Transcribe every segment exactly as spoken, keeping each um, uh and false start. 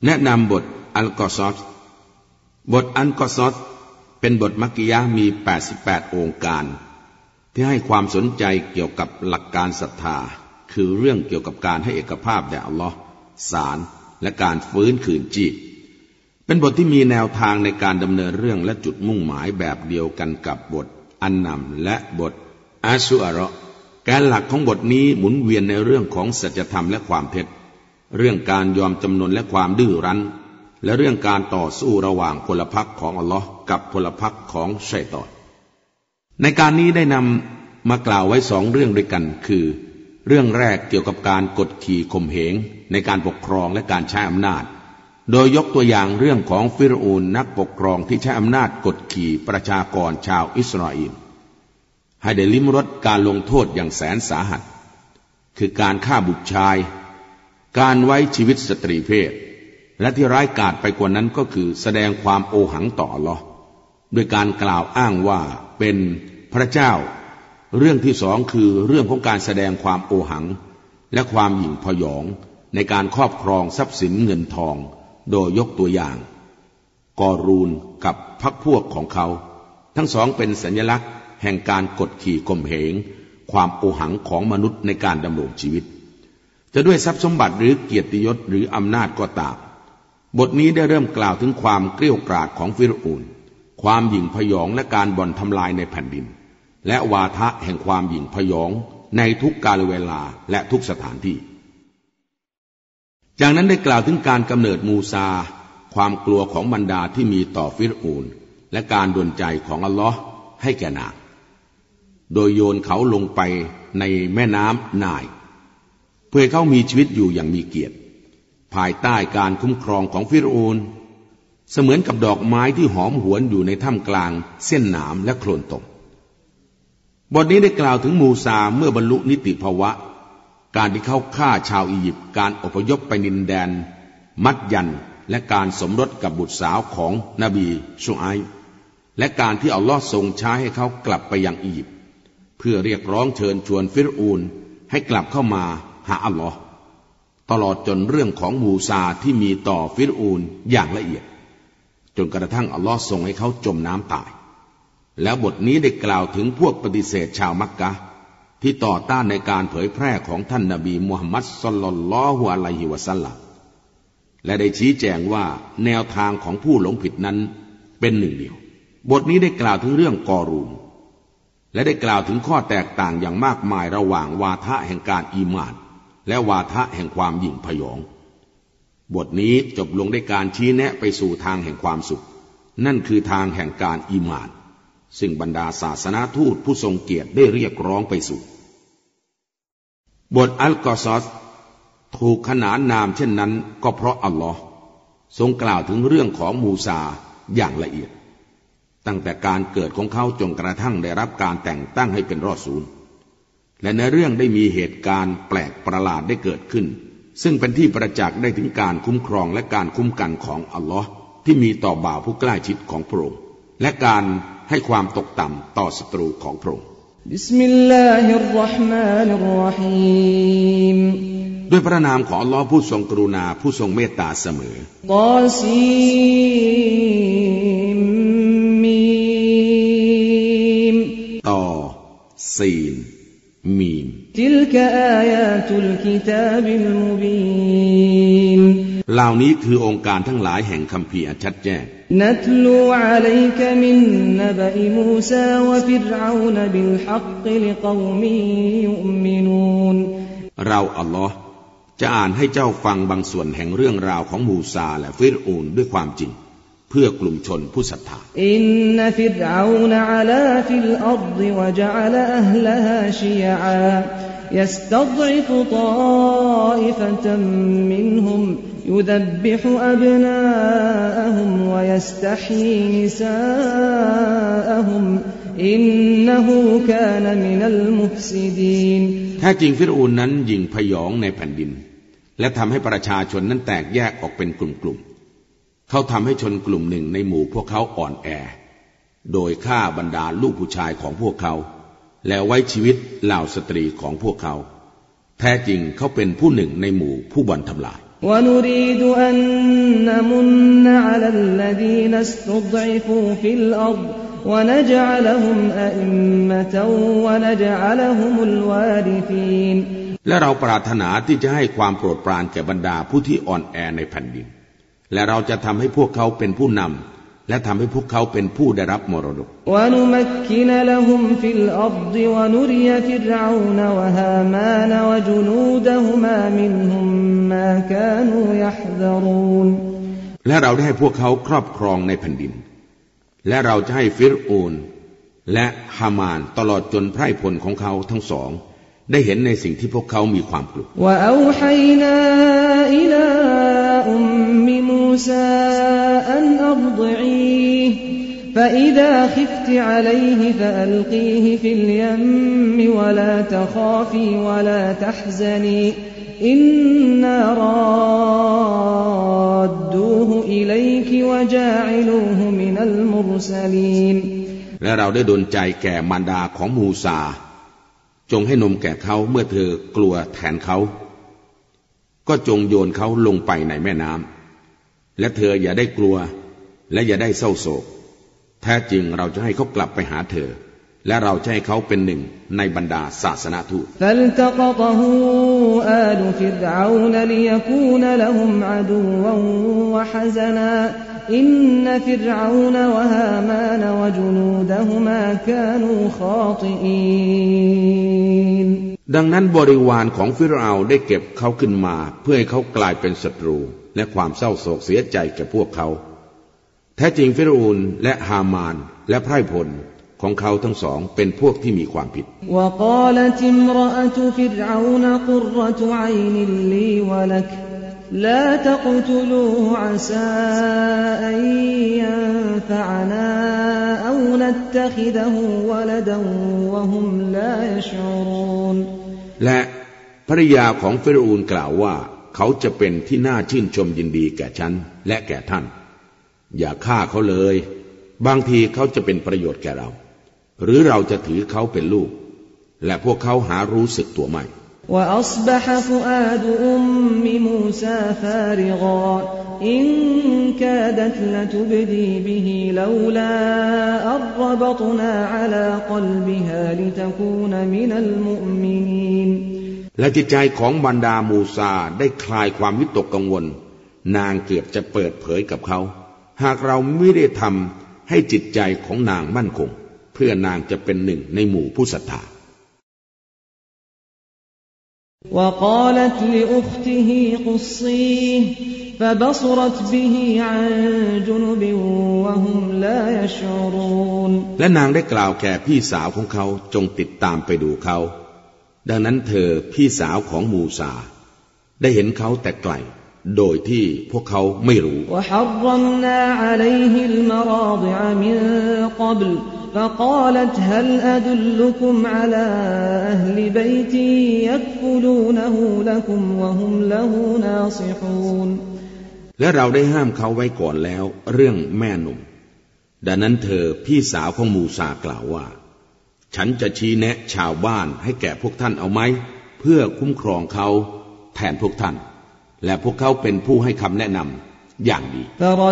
แนะนำบทอัลกอซอสบทอัลกอซอสเป็นบทมักกิยะห์มีแปดสิบแปดองค์การที่ให้ความสนใจเกี่ยวกับหลักการศรัทธาคือเรื่องเกี่ยวกับการให้เอกภาพแด่อัลลอฮ์ศาลและการฟื้นคืนชีพเป็นบทที่มีแนวทางในการดำเนินเรื่องและจุดมุ่งหมายแบบเดียวกันกับบทอันนัมและบทอัชชุอาเราะห์แกนหลักของบทนี้หมุนเวียนในเรื่องของสัจธรรมและความเท็จเรื่องการยอมจำนนและความดื้อรั้นและเรื่องการต่อสู้ระหว่างพลพรรคของอัลลอฮ์กับพลพรรคของชัยฏอนในการนี้ได้นำมากล่าวไว้สองเรื่องด้วยกันคือเรื่องแรกเกี่ยวกับการกดขี่ข่มเหงในการปกครองและการใช้อำนาจโดยยกตัวอย่างเรื่องของฟิรอูนนักปกครองที่ใช้อำนาจกดขี่ประชากรชาวอิสราเอลให้ได้ลิ้มรสการลงโทษอย่างแสนสาหัสคือการฆ่าบุตรชายการไว้ชีวิตสตรีเพศและที่ร้ายกาจไปกว่านั้นก็คือแสดงความโอหังต่ออัลเลาะห์ด้วยการกล่าวอ้างว่าเป็นพระเจ้าเรื่องที่สองคือเรื่องของการแสดงความโอหังและความหยิ่งพยองในการครอบครองทรัพย์สินเงินทองโดยยกตัวอย่างกอรูนกับพรรคพวกของเขาทั้งสองเป็นสัญลักษณ์แห่งการกดขี่ข่มเหงความโอหังของมนุษย์ในการดำรงชีวิตจะด้วยทรัพย์สมบัติหรือเกียรติยศหรืออำนาจก็ตามบทนี้ได้เริ่มกล่าวถึงความเกรี้ยวกราดของฟิรอูนความหยิ่งพยองและการบ่อนทำลายในแผ่นดินและวาทะแห่งความหยิ่งพยองในทุกกาลเวลาและทุกสถานที่จากนั้นได้กล่าวถึงการกำเนิดมูซาความกลัวของบรรดาที่มีต่อฟิรอูนและการดลใจของอัลลอฮ์ให้แก่นางโดยโยนเขาลงไปในแม่น้ำนายเพื่อเขามีชีวิตอยู่อย่างมีเกียรติภายใต้การคุ้มครองของฟิรอูนเสมือนกับดอกไม้ที่หอมหวนอยู่ในท่ามกลางเส้นหนามและโคลนตมบทนี้ได้กล่าวถึงมูซาเมื่อบรรลุนิติภาวะการที่เขาฆ่าชาวอียิปต์การอพยพไปดินแดนมัดยันและการสมรสกับบุตรสาวของนบีชูไอบ์และการที่อัลลอฮ์ทรงใช้ให้เขากลับไปยังอียิปต์เพื่อเรียกร้องเชิญชวนฟิรอูนให้กลับเข้ามาหาอัลลอฮ์ตลอดจนเรื่องของมูซาที่มีต่อฟิรอูนอย่างละเอียดจนกระทั่งอัลลอฮ์ทรงให้เขาจมน้ำตายแล้วบทนี้ได้กล่าวถึงพวกปฏิเสธชาวมักกะฮ์ที่ต่อต้านในการเผยแพร่ของท่านนบีมุฮัมมัดศ็อลลัลลอฮุอะลัยฮิวะซัลลัมและได้ชี้แจงว่าแนวทางของผู้หลงผิดนั้นเป็นหนึ่งเดียวบทนี้ได้กล่าวถึงเรื่องกอรูนและได้กล่าวถึงข้อแตกต่างอย่างมากมายระหว่างวาทะแห่งการอีหม่านและวาทะแห่งความหยิ่งพยองบทนี้จบลงด้วยการชี้แนะไปสู่ทางแห่งความสุขนั่นคือทางแห่งการอีหม่านซึ่งบรรดาศาสนาทูตผู้ทรงเกียรติได้เรียกร้องไปสู่บทอัลกอซอสถูกขนานนามเช่นนั้นก็เพราะอัลลอฮ์ทรงกล่าวถึงเรื่องของมูซาอย่างละเอียดตั้งแต่การเกิดของเขาจนกระทั่งได้รับการแต่งตั้งให้เป็นรอซูลและในเรื่องได้มีเหตุการณ์แปลกประหลาดได้เกิดขึ้นซึ่งเป็นที่ประจักษ์ได้ถึงการคุ้มครองและการคุ้มกันของอัลลอฮ์ที่มีต่อบ่าวผู้ใกล้ชิดของพระองค์และการให้ความตกต่ำต่อศัตรูของพระองค์บิสมิลลาฮิรเราะห์มานิรเราะฮีมด้วยพระนามของอัลลอฮ์ผู้ทรงกรุณาผู้ทรงเมตตาเสมอตอซีมมีมตอซีนมีมติลกะอายาตุลกิตาบิลมุบีนเหล่านี้คือองค์การทั้งหลายแห่งคัมภีร์อันชัดแจ้งนัตลูอะลัยกะมินนบะอิมูซาวะฟิรเอานบิลฮักกิลิกออมิยุมินูนเราอัลลอฮ์จะอ่านให้เจ้าฟังบางส่วนแห่งเรื่องราวของมูซาและฟิรอูนด้วยความจริงเพื่อกลุ่มชนผู้ศรัทธาอินนฟิรเอานอะลาฟิลอัรฎิวะจะอะลอะห์ลฮาชิยะอาيستضعف طائفة منهم يذبح أبناءهم ويستحيي نساءهم إنه كان من المفسدين แท้จริงฟิรอูนนั้นหยิ่งพยองในแผ่นดินและทำให้ประชาชนนั้นแตกแยกออกเป็นกลุ่มๆเขาทำให้ชนกลุ่มหนึ่งในหมู่พวกเขาอ่อนแอโดยฆ่าบรรดาลูกผู้ชายของพวกเขาและไว้ชีวิตเหล่าสตรีของพวกเขาแท้จริงเขาเป็นผู้หนึ่งในหมู่ผู้บ่อนทำลาย ونريد أن نمن على الذين استضعفوا في الأرض ونجعلهم أئمة ونجعلهم الوارثين และเราปรารถนาที่จะให้ความโปรดปรานแก่บรรดาผู้ที่อ่อนแอในแผ่นดินและเราจะทำให้พวกเขาเป็นผู้นำและทำให้พวกเขาเป็นผู้ได้รับมรดกและเราได้ให้พวกเขาครอบครองในแผ่นดินและเราจะให้ฟิรอูนและฮามานตลอดจนไพร่พลของเขาทั้งสองได้เห็นในสิ่งที่พวกเขามีความกลัว فإذا خفت عليه فألقيه في اليم ولا تخافي ولا تحزني إنا رادوه إليك وجاعلوه من المرسلين และเราได้ดลใจแก่มารดาของมูซาจงให้นมแก่เขาเมื่อเธอกลัวแทนเขาก็จงโยนเขาลงไปในแม่น้ำและเธออย่าได้กลัวและอย่าได้เศร้าโศกแท้จริงเราจะให้เขากลับไปหาเธอและเราจะให้เขาเป็นหนึ่งในบรรดาศาสนาทูตอินนฟิรเอานวะฮามานวะจุนูดะฮุมาคานูคอติอีนดังนั้นบริวารของฟิรเอาได้เก็บเขาขึ้นมาเพื่อให้เขากลายเป็นศัตรูและความเศร้าโศกเสียใจแก่พวกเขาแท้จริงฟิรอูนและฮามานและไพร่พลของเขาทั้งสองเป็นพวกที่มีความผิด لا تقتلوه عسى أن ينفعنا أو نتخذه ولدا وهم لا يشعرون และภริยาของฟิรอูนกล่าวว่าเขาจะเป็นที่น่าชื่นชมยินดีแก่ฉันและแก่ท่านอย่าฆ่าเขาเลยบางทีเขาจะเป็นประโยชน์แก่เราหรือเราจะถือเขาเป็นลูกและพวกเขาหารู้สึกตัวไม่ وأصبح فؤاد أم موسى فارغا إن كادت لتبدي به لولا أن ربطنا على قلبها لتكون من المؤمنين และจิตใจของบรรดามูซาได้คลายความวิตกกังวลนางเกือบจะเปิดเผยกับเขาหากเราไม่ได้ทำให้จิตใจของนางมั่นคงเพื่อนางจะเป็นหนึ่งในหมู่ผู้ศรัทธา وقالت لأخته قصيه فبصرت به عن جنب وهم لا يشعرون และนางได้กล่าวแก่พี่สาวของเขาจงติดตามไปดูเขาดังนั้นเธอพี่สาวของมูซาได้เห็นเขาแต่ไกลโดยที่พวกเขาไม่รู้ وحرمنا عليه المراضع من قبل فقالت هل أدلكم على أهل بيت يكفلونه لكم وهم له ناصحون และเราได้ห้ามเขาไว้ก่อนแล้วเรื่องแม่นมดังนั้นเธอพี่สาวของมูซากล่าวว่าฉันจะชี้แนะชาวบ้านให้แก่พวกท่านเอาไหมเพื่อคุ้มครองเขาแทนพวกท่านและพวกเขาเป็นผู้ให้คำแนะนำอย่างดี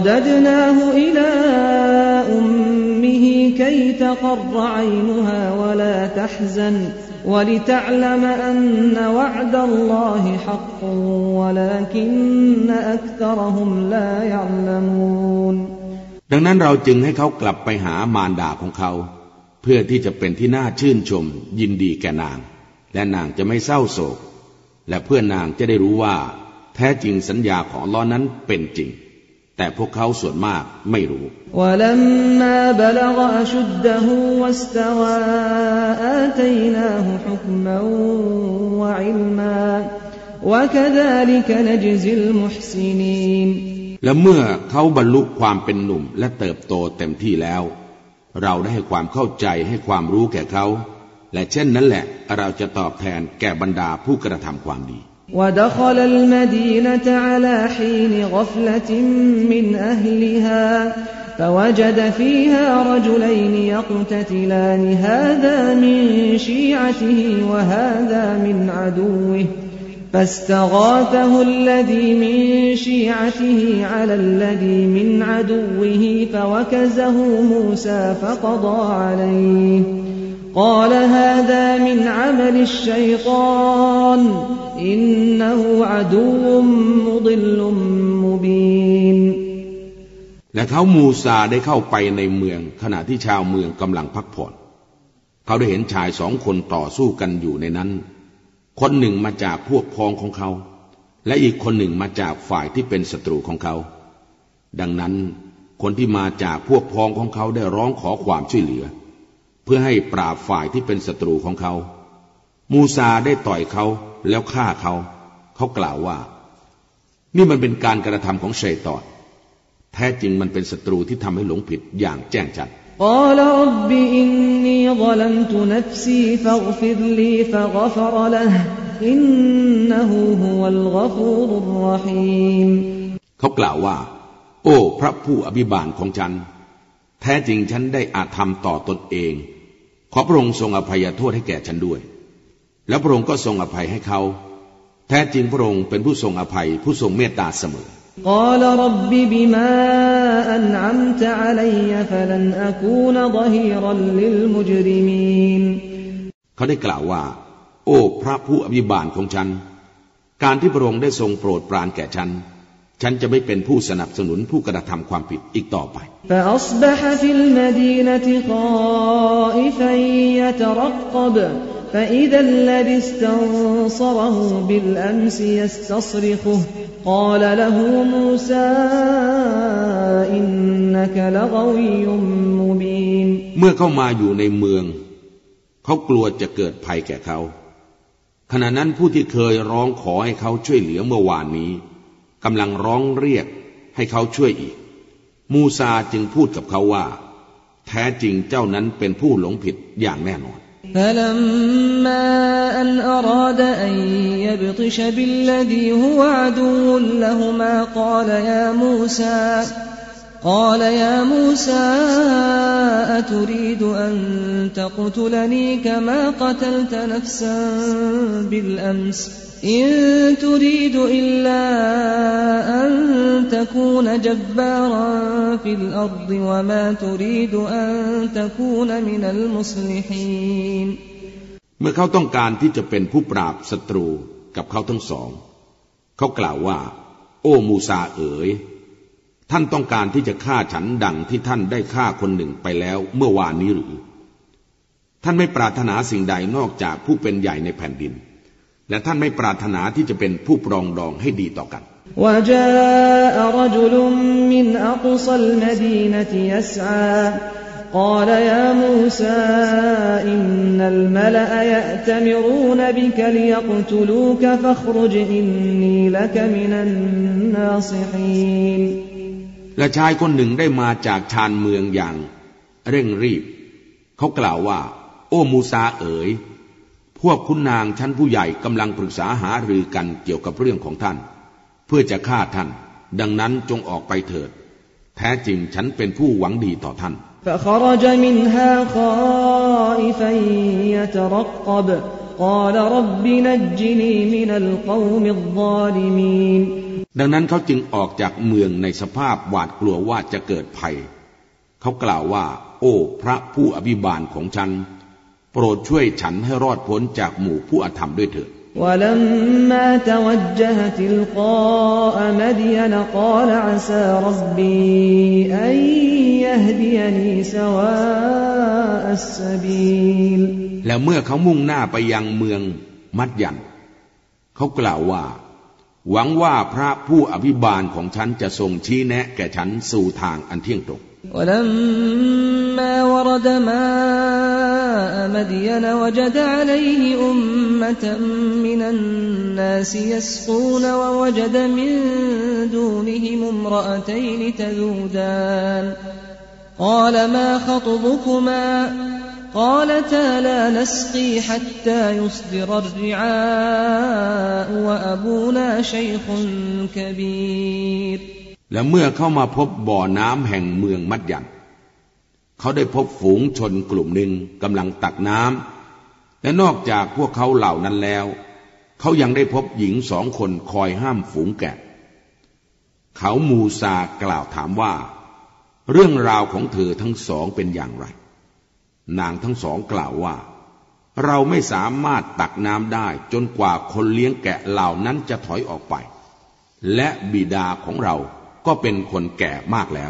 كي تقر عينها ولا تحزن ولتعلم أن وعد الله حق ولكن أكثرهم لا يعلمون ดังนั้นเราจึงให้เขากลับไปหามารดาของเขาเพื่อที่จะเป็นที่น่าชื่นชมยินดีแก่นางและนางจะไม่เศร้าโศกและเพื่อนางจะได้รู้ว่าแท้จริงสัญญาของอัลเลาะห์นั้นเป็นจริงแต่พวกเขาส่วนมากไม่รู้และเมื่อเขาบรรลุความเป็นหนุ่มและเติบโตเต็มที่แล้วเราได้ให้ความเข้าใจให้ความรู้แก่เขาและเช่นนั้นแหละเราจะตอบแทนแก่บรรดาผู้กระทำความดี ودخل المدينة على حين غفلة من أهلها فوجد فيها رجلين يقتتلان هذا من شيعته وهذا من عدوه فاستغاثه الذي من شيعته على الذي من عدوه فوكزه موسى فقضى عليه قال هذا من عمل الشيطان إنه عدو مضل مبين และเขามูซาได้เข้าไปในเมืองขณะที่ชาวเมืองกำลังพักผ่อนเขาได้เห็นชายสองคนต่อสู้กันอยู่ในนั้นคนหนึ่งมาจากพวกพ้องของเขาและอีกคนหนึ่งมาจากฝ่ายที่เป็นศัตรูของเขาดังนั้นคนที่มาจากพวกพ้องของเขาได้ร้องขอความช่วยเหลือเพื่อให้ปราบฝ่ายที่เป็นศัตรูของเขามูซาได้ต่อยเขาแล้วฆ่าเขาเขากล่าวว่านี่มันเป็นการกระทำของชัยฏอนแท้จริงมันเป็นศัตรูที่ทำให้หลงผิดอย่างแจ้งชัด قال رب إني ظلمت نفسي فاغفر لي فغفر له إنه هو الغفور الرحيم เขากล่าวว่าโอ้พระผู้อภิบาลของฉันแท้จริงฉันได้อาธรรมต่อตนเองขอพระองค์ทรงอภัยโทษให้แก่ฉันด้วยแล้วพระองค์ก็ทรงอภัยให้เขาแท้จริงพระองค์เป็นผู้ทรงอภัยผู้ทรงเมตตาเสมอ قال رب بما أنعمت علي فلن أكون ظهيرا للمجرمين เขาได้กล่าวว่าโอ้พระผู้อภิบาลของฉันการที่พระองค์ได้ทรงโปรดปรานแก่ฉันฉันจะไม่เป็นผู้สนับสนุนผู้กระทำความผิดอีกต่อไป فأصبح في المدينة خائفا يترقب فإذا الذي استنصره بالأمس يستصرخه قال له موسى إنك لغوي مبين เมื่อเข้ามาอยู่ในเมืองเขากลัวจะเกิดภัยแก่เขาขณะนั้นผู้ที่เคยร้องขอให้เขาช่วยเหลือเมื่อวานนี้กำลังร้องเรียกให้เขาช่วยอีกมูซาจึงพูดกับเขาว่าแท้จริงเจ้านั้นเป็นผู้หลงผิดอย่างแน่นอน فلما أن أراد أن يبطش بالذي هو عدو لهما قال يا موسى قال يا موسى أتريد أن تقتلني كما قتلت نفسا بالأمس إن تريد إلا أن تكون جبارا في الأرض وما تريد أن تكون من المصلحين เมื่อเขาต้องการที่จะเป็นผู้ปราบศัตรูกับเขาทั้งสองเขากล่าวว่าโอ้มูซาเอ๋ยท่านต้องการที่จะฆ่าฉันดังที่ท่านได้ฆ่าคนหนึ่งไปแล้วเมื่อวานนี้หรือท่านไม่ปรารถนาสิ่งใดนอกจากผู้เป็นใหญ่ในแผ่นดินและท่านไม่ปรารถนาที่จะเป็นผู้ปรองดองให้ดีต่อกัน وجاء رجل من أقصى المدينة يسعى قال يا موسى إن الملأ يأتمرون بك ليقتلوك فاخرج إني لك من الناصحين และชายคนหนึ่งได้มาจากชานเมืองอย่างเร่งรีบเขากล่าวว่าโอ้มูซาเอ๋ยพวกขุนนางชั้นผู้ใหญ่กำลังปรึกษาหารือกันเกี่ยวกับเรื่องของท่านเพื่อจะฆ่าท่านดังนั้นจงออกไปเถิดแท้จริงฉันเป็นผู้หวังดีต่อท่าน فخرج منها خائفا يترقب قال رب نجني من القوم الظالمين ดังนั้นเขาจึงออกจากเมืองในสภาพหวาดกลัวว่าจะเกิดภัยเขากล่าวว่าโอ้พระผู้อภิบาลของฉันโปรดช่วยฉันให้รอดพ้นจากหมู่ผู้อธรรมด้วยเถิด ولما توجه تلقاء مدين قال عسى ربي أن يهديني سواء السبيل แล้วเมื่อเขามุ่งหน้าไปยังเมืองมัดยันเขากล่าวว่าหวังว่าพระผู้อภิบาลของฉันจะทรงชี้แนะแก่ฉันสู่ทางอันเที่ยงตรง ولما ورد ماء مدين وجد عليه أمة من الناس يسقون ووجد من دونهم امرأتين تذودان قال ما خطبكما قالتا لا نسقي حتى يصدر الرعاء وأبونا شيخ كبير และเมื่อเข้ามาพบบ่อน้ำแห่งเมืองมัดยันเขาได้พบฝูงชนกลุ่มหนึ่งกำลังตักน้ำและนอกจากพวกเขาเหล่านั้นแล้วเขายังได้พบหญิงสองคนคอยห้ามฝูงแกะเขามูซากล่าวถามว่าเรื่องราวของเธอทั้งสองเป็นอย่างไรนางทั้งสองกล่าวว่าเราไม่สามารถตักน้ำได้จนกว่าคนเลี้ยงแกะเหล่านั้นจะถอยออกไปและบิดาของเราก็เป็นคนแก่มากแล้ว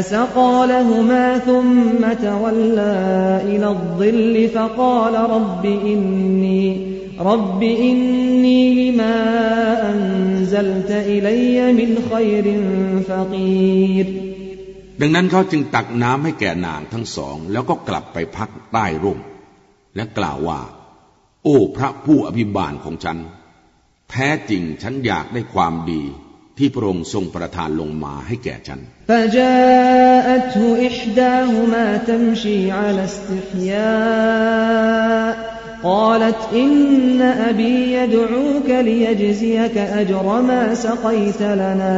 رب إني لما أنزلت إلي من خير فقير ดังนั้นเขาจึงตักน้ำให้แก่นางทั้งสองแล้วก็กลับไปพักใต้ร่มและกล่าวว่าโอ้พระผู้อภิบาลของฉันแท้จริงฉันอยากได้ความดีที่พระองค์ทรงประทานลงมาให้แก่ฉัน فجاءته إحداهما تمشي على استحياء قالت إن أبي يدعوك ليجزيك أجر ما سقيت لنا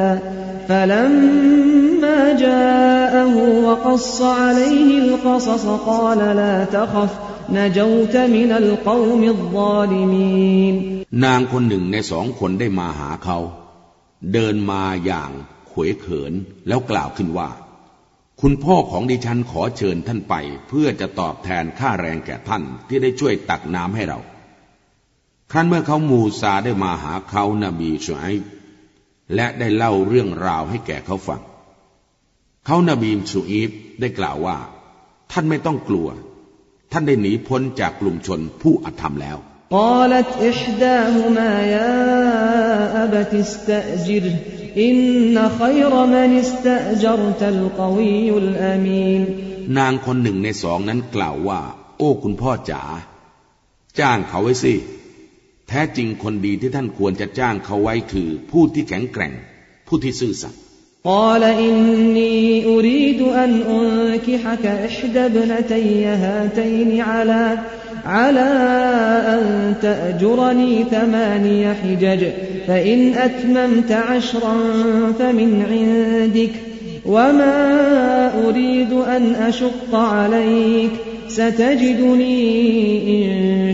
فلما جاءه وقص عليه القصص قال لا تخف نجوت من القوم الظالمين นางคนหนึ่งในสองคนได้มาหาเขาเดินมาอย่างเขวเขินแล้วกล่าวขึ้นว่าคุณพ่อของดิฉันขอเชิญท่านไปเพื่อจะตอบแทนค่าแรงแก่ท่านที่ได้ช่วยตักน้ำให้เราครั้นเมื่อเขามูซาได้มาหาเขานบีชูไอบ์และได้เล่าเรื่องราวให้แก่เขาฟังเขานบีชูไอบ์ได้กล่าวว่าท่านไม่ต้องกลัวท่านได้หนีพ้นจากกลุ่มชนผู้อธรรมแล้ว قالت إحداهما يا أبت استأجره إن خير من استأجرت القوي الأمين นางคนหนึ่งในสองนั้นกล่าวว่าโอ้คุณพ่อจ๋าจ้างเขาไว้สิแท้จริงคนดีที่ท่านควรจะจ้างเขาไว้คือผู้ที่แข็งแกร่งผู้ที่ซื่อสัตย์ قال إني أريد أن أنكحك إحدى ابنتي هاتين على على أن تأجرني ثماني حجج فإن أتممت عشرا فمن عندك وما أريد أن أشق عليك ستجدني إن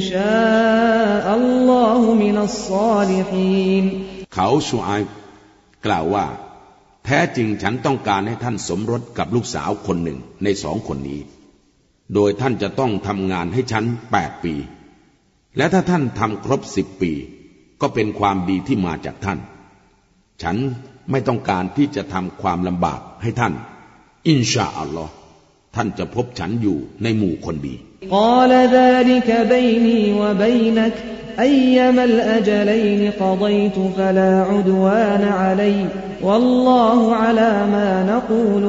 شاء الله من الصالحين เขาชูไอบกล่าวว่าแท้จริงฉันต้องการให้ท่านสมรสกับลูกสาวคนหนึ่งในสองคนนี้โดยท่านจะต้องทำงานให้ฉันแปดปีและถ้าท่านทำครบสิบปีก็เป็นความดีที่มาจากท่านฉันไม่ต้องการที่จะทำความลำบากให้ท่านอินชาอัลลอฮ์ท่านจะพบฉันอยู่ในหมู่คนดี قال ذلك بيني وبينك أيما الأجلين قضيت فلا عدوان علي والله على ما نقول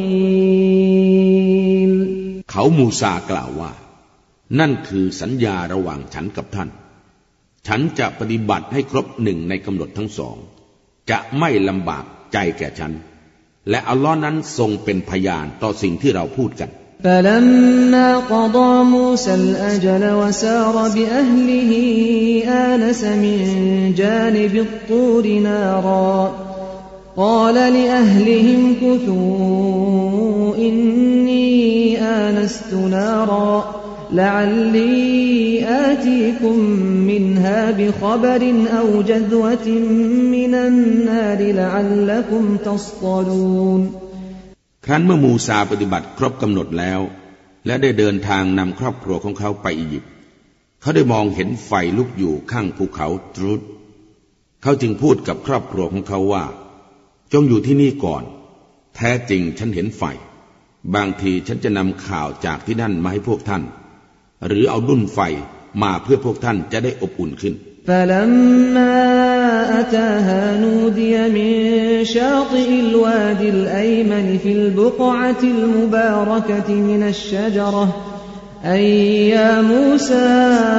وكيل เขามูซากล่าวว่านั่นคือสัญญาระหว่างฉันกับท่านฉันจะปฏิบัติให้ครบหนึ่งในกำหนดทั้งสองจะไม่ลำบากใจแก่ฉันและอัลลอฮ์นั้นทรงเป็นพยานต่อสิ่งที่เราพูดกัน فلما قضى موسى الأجل وسار بأهله آنس من جانب الطور نارا قال لأهلهم كثوا إني آنست نارا لعلي آتيكم منها بخبر أو جذوة من النار لعلكم تصطلون ครั้นเมื่อมูซาปฏิบัติครบกำหนดแล้วและได้เดินทางนำครอบครัวของเขาไปอียิปต์เขาได้มองเห็นไฟลุกอยู่ข้างภูเขาตรุดเขาจึงพูดกับครอบครัวของเขาว่าจงอยู่ที่นี่ก่อนแท้จริงฉันเห็นไฟบางทีฉันจะนำข่าวจากที่นั่นมาให้พวกท่านหรือเอาดุ้นไฟมาเพื่อพวกท่านจะได้อบอุ่นขึ้น فلما أتاها نودي من شاطئ الوادي الأيمن في البقعة المباركة من الشجرة أي يا موسى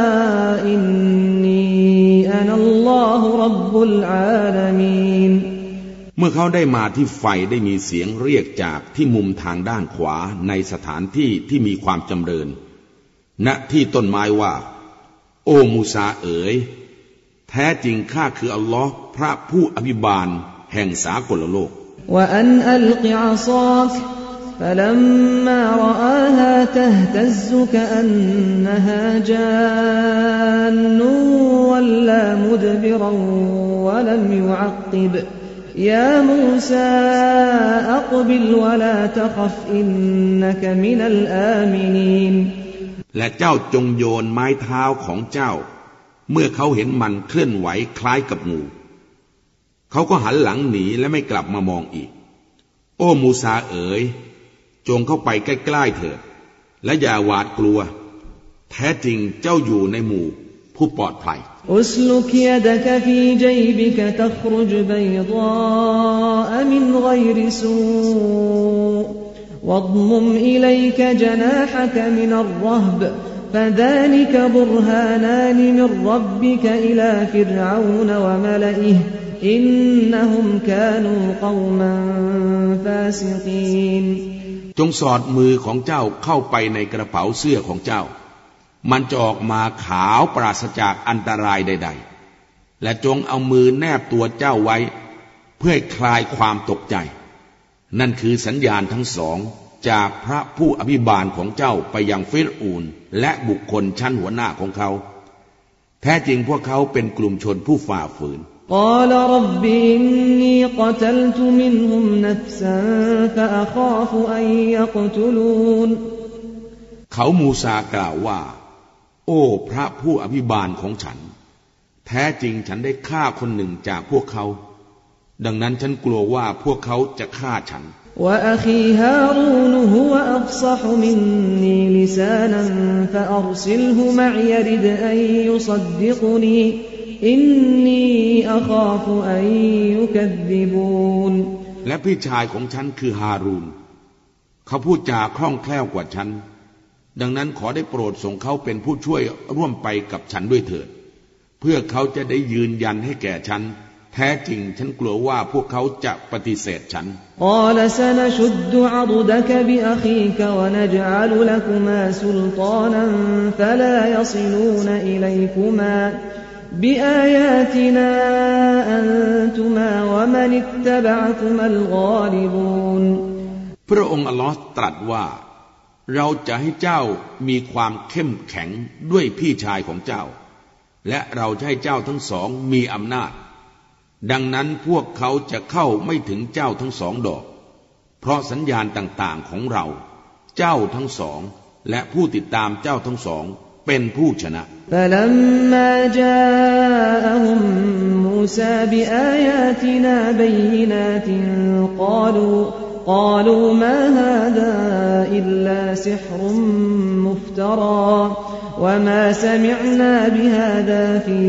إني أنا الله رب العالمين เมื่อเขาได้มาที่ไฟได้มีเสียงเรียกจากที่มุมทางด้านขวาในสถานที่ที่มีความจำเริญณที่ต้นไม้ว่าโอ้มูซาเอ๋ยแท้จริงข้าคืออัลลอฮ์พระผู้อภิบาลแห่งสากลโลก وأن ألق عصاك فلما رآها تهتز كأنها جان ولا مدبرا ولم يعقب يا موسى أقبل ولا تخف إنك من الآمنين และเจ้าจงโยนไม้เท้าของเจ้าเมื่อเขาเห็นมันเคลื่อนไหวคล้ายกับงูเขาก็หันหลังหนีและไม่กลับมามองอีกโอ้มูซาเอ๋ยจงเข้าไปใกล้ๆเถิดและอย่าหวาดกลัวแท้จริงเจ้าอยู่ในหมู่ผู้ปลอดภัย أسلك يدك في جيبك تخرج بيضاء من غير سوء واضمم إليك جناحك من الرهب فذلك برهانان من ربك إلى فرعون وملئه إنهم كانوا قوما فاسقين จงสอดมือของเจ้าเข้าไปในกระเป๋าเสื้อของเจ้ามันจะออกมาขาวปราศจากอันตรายใดๆและจงเอามือแนบตัวเจ้าไว้เพื่อคลายความตกใจนั่นคือสัญญาณทั้งสองจากพระผู้อภิบาลของเจ้าไปยังฟิรอูนและบุคคลชั้นหัวหน้าของเขาแท้จริงพวกเขาเป็นกลุ่มชนผู้ฝ่าฝืน قال رب إني قتلت منهم نفسا فأخاف أن يقتلون เขามูซากล่าวว่าโอ้พระผู้อภิบาลของฉันแท้จริงฉันได้ฆ่าคนหนึ่งจากพวกเขาดังนั้นฉันกลัวว่าพวกเขาจะฆ่าฉัน وأخي هارون هو أفصح مني لسانا فأرسله معي يرد أن يصدقني إني أخاف أن يكذبون และพี่ชายของฉันคือฮารูนเขาพูดจาคล่องแคล่วกว่าฉันดังนั้นขอได้โปรดส่งเขาเป็นผู้ช่วยร่วมไปกับฉันด้วยเถิดเพื่อเขาจะได้ยืนยันให้แก่ฉันแท้จริงฉันกลัวว่าพวกเขาจะปฏิเสธฉัน قال سنشد عضدك بأخيك ونجعل لكما سلطانا فلا يصلون إليكما بآياتنا أنتما ومن اتبعكما الغالبون พระองค์อัลลอฮ์ตรัสว่าเราจะให้เจ้ามีความเข้มแข็งด้วยพี่ชายของเจ้าและเราจะให้เจ้าทั้งสองมีอำนาจดังนั้นพวกเขาจะเข้าไม่ถึงเจ้าทั้งสองดอกเพราะสัญญาณต่างๆของเราเจ้าทั้งสองและผู้ติดตามเจ้าทั้งสองเป็นผู้ชนะ فلما جاءهم موسى بآياتنا بينات قالوا قالوا ما هذا إلا سحر مفترى وما سمعنا بهذا في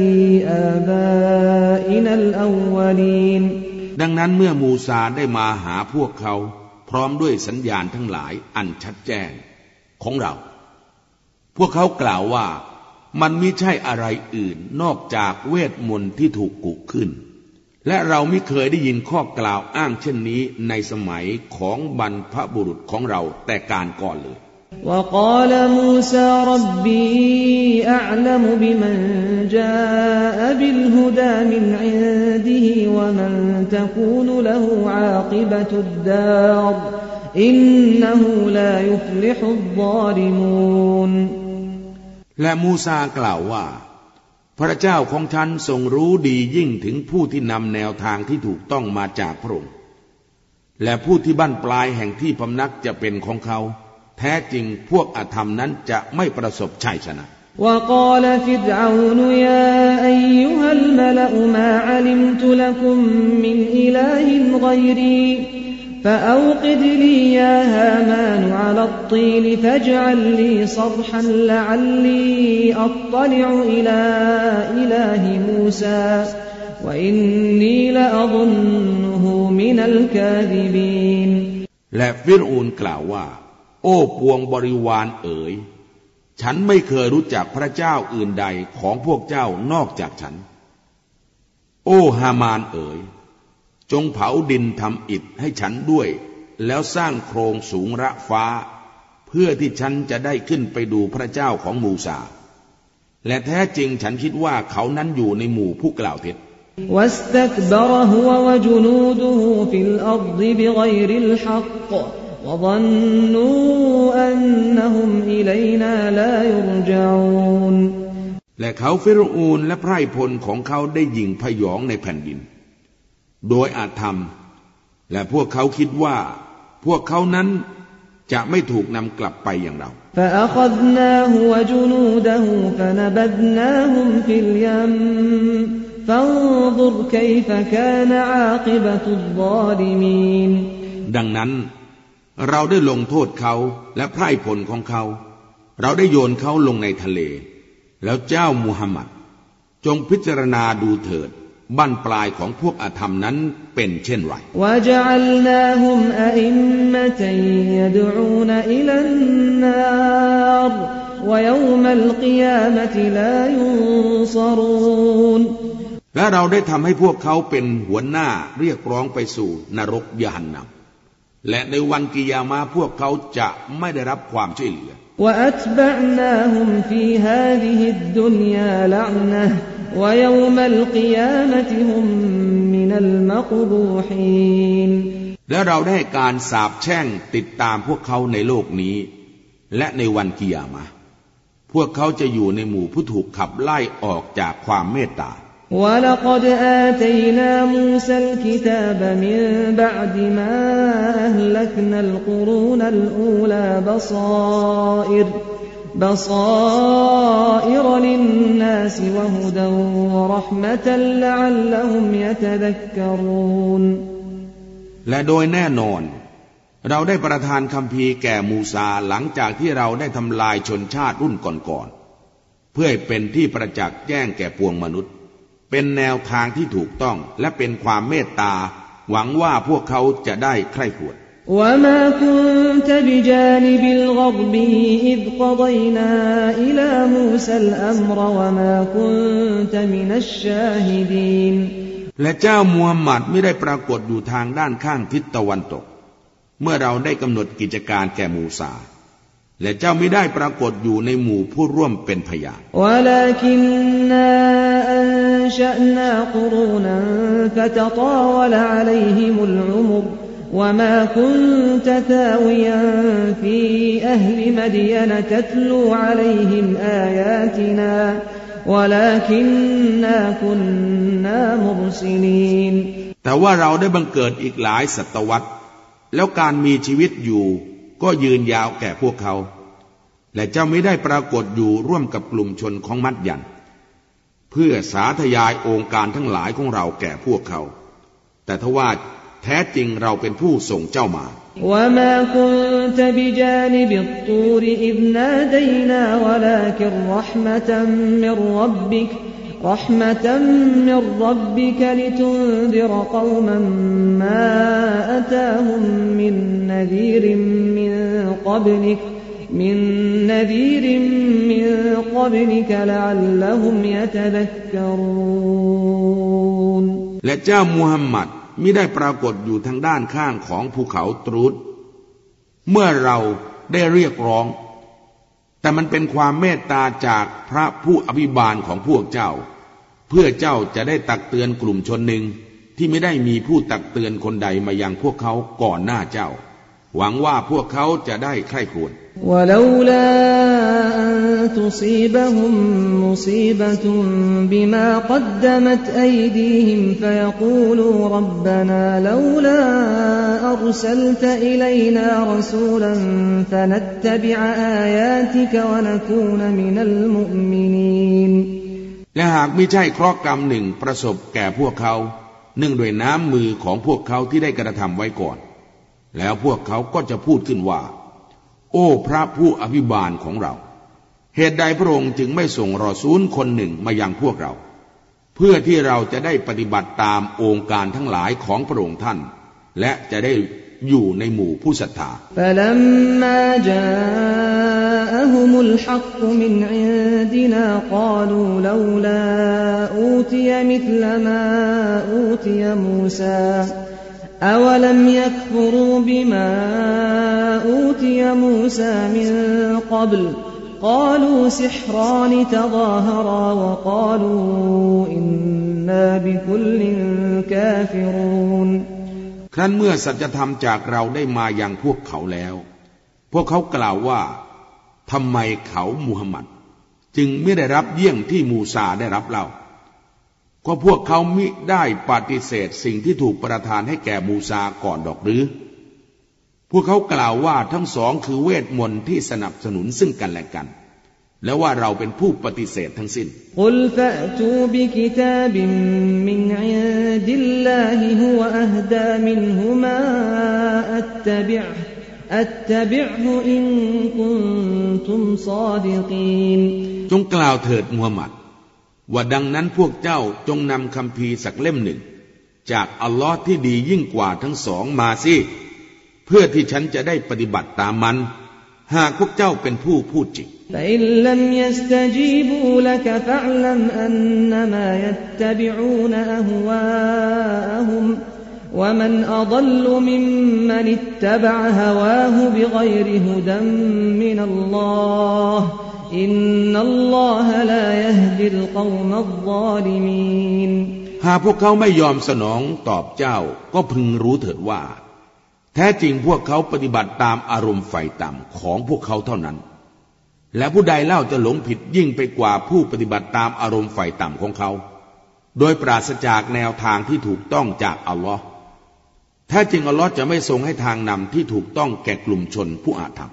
آبائنا الأولين ดังนั้นเมื่อมูซาได้มาหาพวกเขาพร้อมด้วยสัญญาณทั้งหลายอันชัดแจ้งของเราพวกเขากล่าวว่ามันมิใช่อะไรอื่นนอกจากเวทมนต์ที่ถูกกุขึ้นและเราไม่เคยได้ยินข้อกล่าวอ้างเช่นนี้ในสมัยของบรรพบุรุษของเราแต่การก่อนเลย وقال موسى ربي أعلم بمن جاء بالهدى من عنده ومن تكون له عاقبة الدار إنه لا يفلح الظالمون และมูซากล่าวว่าพระเจ้าของฉันทรงรู้ดียิ่งถึงผู้ที่นำแนวทางที่ถูกต้องมาจากพระองค์และผู้ที่บั้นปลายแห่งที่พำนักจะเป็นของเขาแท้จริงพวกอธรรมนั้นจะไม่ประสบชัยชนะ وقال فرعون يا أيها الملأ ما علمت لكم من إله غيري فأوقد لي يا هامان على الطين فاجعل لي صرحا لعلي أطلع إلى إله موسى وإني لأظنه من الكاذبين และฟิรอูนกล่าวว่าโอ้ปวงบริวารเอ๋ยฉันไม่เคยรู้จักพระเจ้าอื่นใดของพวกเจ้านอกจากฉันโอ้ฮามานเอ๋ยจงเผาดินทำอิฐให้ฉันด้วยแล้วสร้างโครงสูงระฟ้าเพื่อที่ฉันจะได้ขึ้นไปดูพระเจ้าของมูซาและแท้จริงฉันคิดว่าเขานั้นอยู่ในหมู่ผู้กล่าวเท็จ واستكبر هو وجنوده في الأرض بغير الحق وظنوا أنهم إلينا لا يرجعون และเขาฟิรอูนและไพร่พลของเขาได้ยิงพยองในแผ่นดินโดยอาธรรมและพวกเขาคิดว่าพวกเขานั้นจะไม่ถูกนำกลับไปอย่างเรา فأخذناه وجنوده فنبذناهم في اليم فانظر كيف كان عاقبة الظالمين ดังนั้นเราได้ลงโทษเขาและไพร่พลของเขาเราได้โยนเขาลงในทะเลแล้วเจ้ามุฮัมมัดจงพิจารณาดูเถิดบั้นปลายของพวกอาธรรมนั้นเป็นเช่นไร وَجَعَلْنَاهُمْ أَئِمَّةً يَدْعُونَ إِلَى النَّارِ وَيَوْمَ الْقِيَامَةِ لَا يُنصَرُونَ และเราได้ทำให้พวกเขาเป็นหัวหน้าเรียกร้องไปสู่นรกยะฮันนัมและในวันกิยามะห์พวกเขาจะไม่ได้รับความช่วยเหลือ وَأَتْبَعْنَاهُمْ فِي هَذِهِ الدُّنْيَا لَعْنَةً وَيَوْمَ الْقِيَامَةِ هُمْ مِنَ الْمَقْبُوحِينَ และเราได้การสาปแช่งติดตามพวกเขาในโลกนี้และในวันกิยามะห์พวกเขาจะอยู่ในหมู่ผู้ถูกขับไล่ออกจากความเมตตา وَلَقَدْ آتَيْنَا مُوسَى الْكِتَابَ مِنْ بَعْدِ مَا أَهْلَكْنَا الْقُرُونَ الْأُولَى بَصَائِرَ بَصَائِرَ لِلنَّاسِ وَهُدًى وَرَحْمَةً لَعَلَّهُمْ يَتَذَكَّرُونَ และโดยแน่นอนเราได้ประทานคัมภีร์แก่มูซาหลังจากที่เราได้ทำลายชนชาติรุ่นก่อนๆเพื่อให้เป็นที่ประจักษ์แจ้งแก่ปวงมนุษย์เป็นแนวทางที่ถูกต้องและเป็นความเมตตาหวังว่าพวกเขาจะได้ใคร่ครวญ وَمَا كُنْتَ بِجَانِبِ الْغَرْبِ إِذْ قَضَيْنَا إِلَى مُوسَى الْأَمْرَ وَمَا كُنْتَ مِنَ الشَّاهِدِينَ และเจ้ามูฮัมหมัดไม่ได้ปรากฏอยู่ทางด้านข้างทิศตะวันตกเมื่อเราได้กำหนดกิจการแก่มูซาและเจ้าไม่ได้ปรากฏอยู่ในหมู่ผู้ร่วมเป็นพยาน وَلَكِنَّا أَنشَأْنَا قُرُونًا فَتَطَاوَلَ عَلَيْهِمُ الْعُمُرُ وَمَا كُنْتَ ثَاوِيًا فِي أَهْلِ مَدْيَنَ تَتْلُو عَلَيْهِمْ آيَاتِنَا وَلَكِنَّا كُنَّا مُرْسِلِينَ แต่ว่าเราได้บังเกิดอีกหลายศตวรรษแล้วการมีชีวิตอยู่ก็ยืนยาวแก่พวกเขาและเจ้าไม่ได้ปรากฏอยู่ร่วมกับกลุ่มชนของมัดยันเพื่อสาธยายองค์การทั้งหลายของเราแก่พวกเขาแต่ทว่าแท้จริงเราเป็นผู้ส่งเจ้ามา وَمَا كُنْتَ بِجَانِبِ الطُّورِ إِذْ نَادَيْنَا وَلَكِنْ رَحْمَةً مِّن رَّبِّكَ رَحْمَةً مِّن رَّبِّكَ لِتُنذِرَ قَوْمًا مَّا أَتَاهُم مِّن نَّذِيرٍ مِّن قَبْلِكَ مِن نَّذِيرٍ مِّن قَبْلِكَ لَعَلَّهُمْ يَتَذَكَّرُونَ และเจ้ามูฮัมหมัดมิได้ปรากฏอยู่ทางด้านข้างของภูเขาตรูดเมื่อเราได้เรียกร้องแต่มันเป็นความเมตตาจากพระผู้อภิบาลของพวกเจ้าเพื่อเจ้าจะได้ตักเตือนกลุ่มชนหนึ่งที่ไม่ได้มีผู้ตักเตือนคนใดมายังพวกเขาก่อนหน้าเจ้าหวังว่าพวกเขาจะได้ใคร่ครวญ وَلَوْلَا أَن تُصِيبَهُم مُّصِيبَةٌ بِمَا قَدَّمَتْ أَيْدِيهِمْ فَيَقُولُوا رَبَّنَا لَوْلَا أَرْسَلْتَ إِلَيْنَا رَسُولًا فَنَتَّبِعَ آيَاتِكَ وَنَكُونَ مِنَ الْمُؤْمِنِينَ และหากมิใช่เคราะห์กรรมหนึ่งประสบแก่พวกเขาเนื่องด้วยน้ำมือของพวกเขาที่ได้กระทำไว้ก่อนแล้วพวกเขาก็จะพูดขึ้นว่าโอ้พระผู้อภิบาลของเราเหตุใดพระองค์จึงไม่ส่งรอซูลคนหนึ่งมายังพวกเราเพื่อที่เราจะได้ปฏิบัติตามองค์การทั้งหลายของพระองค์ท่านและจะได้อยู่ในหมู่ผู้ศรัทธา فَلَمَّا جَاءَهُمُ الْحَقُّ مِنْ عِندِنَا قَالُوا لَوْلَا أُوتِيَ مِثْلَ مَا أُوتِيَ مُوسَى أَوَلَمْ يَكْفُرُوا بِمَا أُوتِيَ مُوسَى مِنْ قَبْلُ قَالُوا سِحْرَانِ تَظَاهَرَا وَقَالُوا إِنَّا بِكُلٍّ كَافِرُونَ ครั้นเมื่อสัจธรรมจากเราได้มายังพวกเขาแล้วพวกเขากล่าวว่าทำไมเขามูฮัมหมัดจึงไม่ได้รับเยี่ยงที่มูซาได้รับเล่าก็พวกเขามิได้ปฏิเสธสิ่งที่ถูกประทานให้แก่มูซาก่อนดอกหรือพวกเขากล่าวว่าทั้งสองคือเวทมนต์ที่สนับสนุนซึ่งกันและกันและว่าเราเป็นผู้ปฏิเสธทั้งสิ้นกุลฟะตูบิกิตาบิมมินอินดิลลาฮิฮุวะอะฮดามินฮุมาอัตตะบิอ์อัตตะบิอ์ฮุอินกุนตุมศอดิกีนจงกล่าวเถิดมูฮัมหมัดว่าดังนั้นพวกเจ้าจงนำคัมภีร์สักเล่มหนึ่งจากอัลลอฮ์ที่ดียิ่งกว่าทั้งสองมาสิเพื่อที่ฉันจะได้ปฏิบัติตามมันหากพวกเจ้าเป็นผู้พูดจริงفإن لم يستجيبوا لك فاعلم أنما يتبعون أهواءهم ومن أضل ممن اتبع هواه بغير هدى من الله إن الله لا يهدي القوم الظالمين หากพวกเขาไม่ยอมสนองตอบเจ้าก็พึงรู้เถิดว่าแท้จริงพวกเขาปฏิบัติตามอารมณ์ไฟต่ำของพวกเขาเท่านั้นและผู้ใดเล่าจะหลงผิดยิ่งไปกว่าผู้ปฏิบัติตามอารมณ์ไฟต่ำของเขาโดยปราศจากแนวทางที่ถูกต้องจากอัลลอฮ์แท้จริงอัลลอฮ์จะไม่ทรงให้ทางนำที่ถูกต้องแก่กลุ่มชนผู้อาธรรม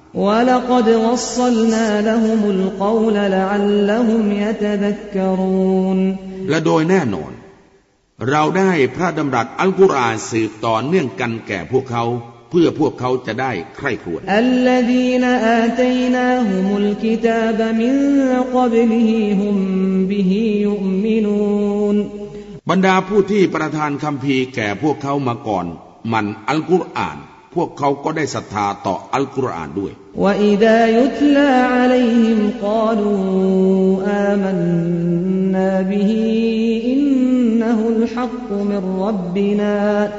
และโดยแน่นอนเราได้พระดำรัสอัลกุรอานสืบต่อเนื่องกันแก่พวกเขาเพื่อพวกเขาจะได้ใคร่ครวญบรรดาผู้ที่ประทานคัมภีร์แก่พวกเขามาก่อนมันอัลกุรอานพวกเขาก็ได้ศรัทธาต่ออัลกุรอานด้วยوإذا يتلى عليهم قالوا آمنا به إنه الحق من ربنا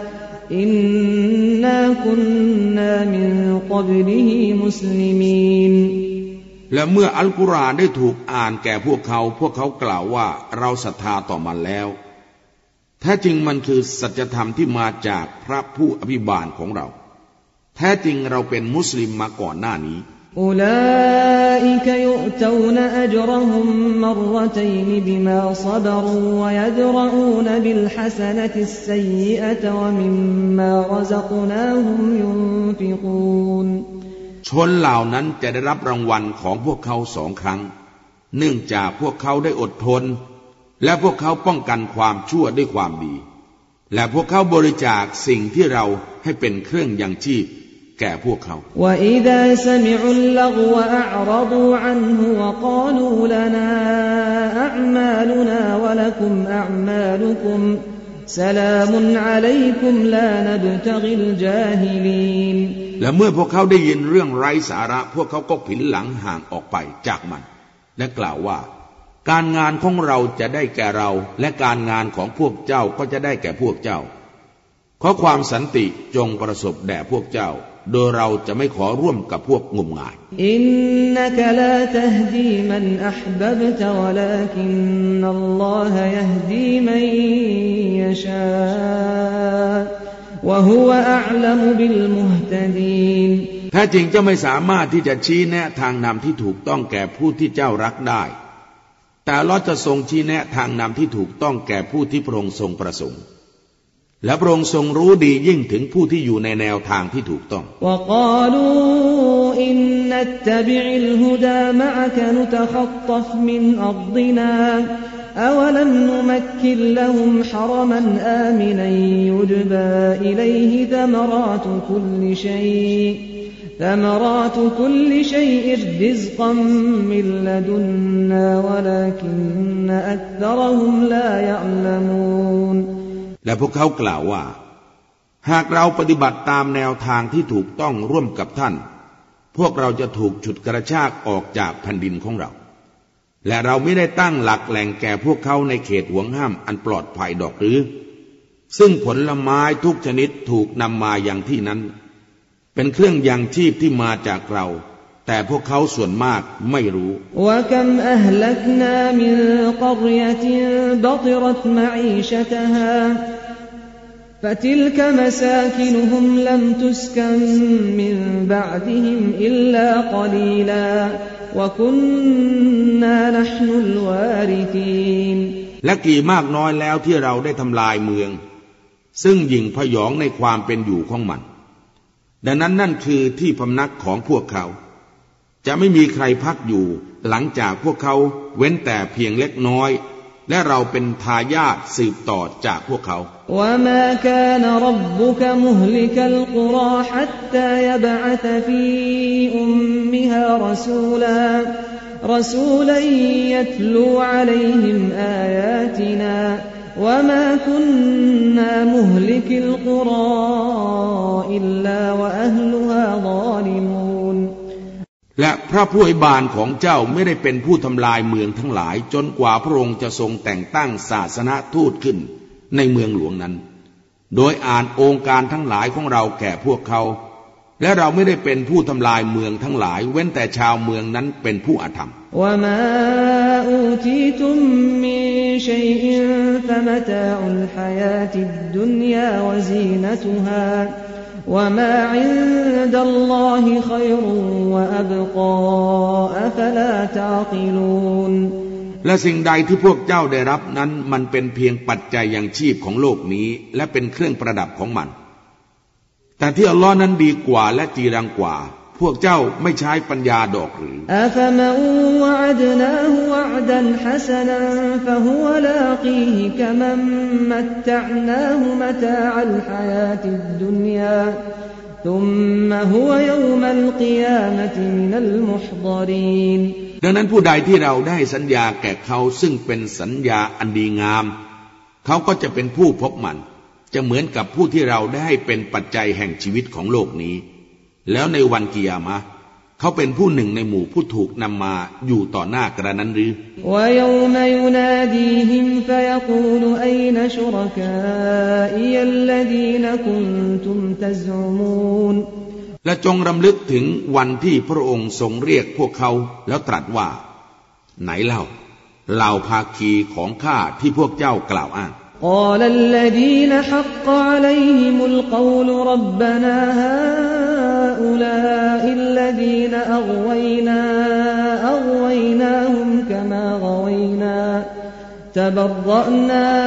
إنا كنا من قبله مسلمين และเมื่ออัลกุรอานได้ถูกอ่านแก่พวกเขาพวกเขากล่าวว่าเราศรัทธาต่อมันแล้วแท้จริงมันคือสัจธรรมที่มาจากพระผู้อภิบาลของเราแท้จริงเราเป็นมุสลิมมาก่อนหน้านี้อุลาอิกยุตวนอัจรฮุมมัรรตัยนบิมาศบรูวะยัดรูนบิลฮัสนะติสซัยยิอะตะวะมิมมารัซกนาฮุมยุนฟิกูนชนเหล่านั้นจะได้รับรางวัลของพวกเขาสองครั้งเนื่องจากพวกเขาได้อดทนและพวกเขาป้องกันความชั่วด้วยความดีและพวกเขาบริจาคสิ่งที่เราให้เป็นเครื่องยังชีพแก่พวกเขาและเมื่อพวกเขาได้ยินเรื่องไร้สาระพวกเขาก็ผินหลังห่างออกไปจากมันและกล่าวว่าการงานของเราจะได้แก่เราและการงานของพวกเจ้าก็จะได้แก่พวกเจ้าขอความสันติจงประสบแด่พวกเจ้าโดยเราจะไม่ขอร่วมกับพวกงมงายอินนักลาตฮดีมันอัฮบับตะวะลากินนัลลอฮะยะฮดีมันยะชาวะฮุวะอะอ์ละมุบิลมุฮตะดีนแท้จริงเจ้าไม่สามารถที่จะชี้แนะทางนำที่ถูกต้องแก่ผู้ที่เจ้ารักได้แต่อัลเลาะห์จะทรงชี้แนะทางนำที่ถูกต้องแก่ผู้ที่พระองค์ทรงประสงค์และพระองค์ทรงรู้ดียิ่งถึงผู้ที่อยู่ในแนวทางที่ถูกต้อง ثمرات كل شيء رزقا من لدنا ولكن أكثرهم لا يعلمون และพวกเขากล่าวว่าหากเราปฏิบัติตามแนวทางที่ถูกต้องร่วมกับท่านพวกเราจะถูกฉุดกระชากออกจากแผ่นดินของเราและเราไม่ได้ตั้งหลักแหล่งแก่พวกเขาในเขตห่วงห้ามอันปลอดภัยดอกหรือซึ่งผลไม้ทุกชนิดถูกนำมาอย่างที่นั้นเป็นเครื่องยังชีพที่มาจากเราแต่พวกเขาส่วนมากไม่รู้ فتلك مساكنهم لم تسكن من بعدهم إلا قليلا وكنا نحن الوارثين และกี่มากน้อยแล้วที่เราได้ทำลายเมืองซึ่งหยิ่งพยองในความเป็นอยู่ของมันดังนั้นนั่นคือที่พำนักของพวกเขาจะไม่มีใครพักอยู่หลังจากพวกเขาเว้นแต่เพียงเล็กน้อยและเราเป็นทายาทสืบต่อจากพวกเขา وما كان ربك مهلك القرى حتى يبعث في أمها رسولا رسولا يتلو عليهم آياتنا وما كنا مهلك القرى إلا وأهلها ظالمون และพระผู้อวยบานของเจ้าไม่ได้เป็นผู้ทำลายเมืองทั้งหลายจนกว่าพระองค์จะทรงแต่งตั้งศาสนทูตขึ้นในเมืองหลวงนั้นโดยอ่านองค์การทั้งหลายของเราแก่พวกเขาและเราไม่ได้เป็นผู้ทำลายเมืองทั้งหลายเว้นแต่ชาวเมืองนั้นเป็นผู้อธรรม وما أوتيتم من شيء فمتاع الحياة الدنيا وزينتها وما عند الله خير وأبقى أفلا تعقلون และสิ่งใดที่พวกเจ้าได้รับนั้นมันเป็นเพียงปัจจัยยังชีพของโลกนี้และเป็นเครื่องประดับของมันแต่ที่อัลลอฮ์นั้นดีกว่าและจีรังกว่าพวกเจ้าไม่ใช้ปัญญาดอกหรืออัฟมะวะอัดนาฮุวะอดันฮะซะนันฟะฮุวะลากีฮิกะมันมัตตะนาฮุมะตาอัลฮะยาติดดุนยาซุมมะฮุวะยอมัลกิยามะติมินัลมุฮฎอรีนดังนั้นผู้ใดที่เราได้สัญญาแก่เขาซึ่งเป็นสัญญาอันดีงามเขาก็จะเป็นผู้พบมันจะเหมือนกับผู้ที่เราได้ให้เป็นปัจจัยแห่งชีวิตของโลกนี้แล้วในวันกิยามะห์เขาเป็นผู้หนึ่งในหมู่ผู้ถูกนำมาอยู่ต่อหน้ากระนั้นหรือและจงรำลึกถึงวันที่พระองค์ทรงเรียกพวกเขาแล้วตรัสว่าไหนเล่าเหล่าภาคีของข้าที่พวกเจ้ากล่าวอ้าง قال الذين حق عليهم القول ربنا هؤلاء الذين أغوينا أغويناهم كما غوينا تبرأنا